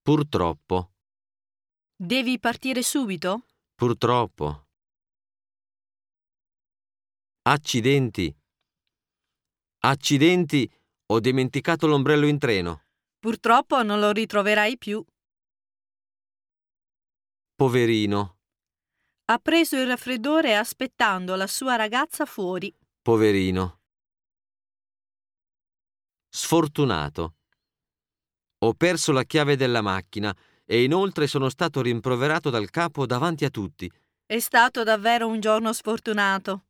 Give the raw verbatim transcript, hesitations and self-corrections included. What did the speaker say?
Purtroppo. Devi partire subito? Purtroppo. Accidenti. Accidenti, ho dimenticato l'ombrello in treno. Purtroppo non lo ritroverai più. Poverino. Ha preso il raffreddore aspettando la sua ragazza fuori. Poverino. Sfortunato. Ho perso la chiave della macchina e inoltre sono stato rimproverato dal capo davanti a tutti. È stato davvero un giorno sfortunato.